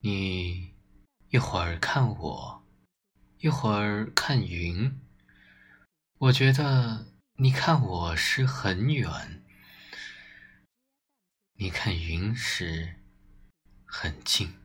你一会儿看我，一会儿看云。我觉得你看我时很远，你看云时很近。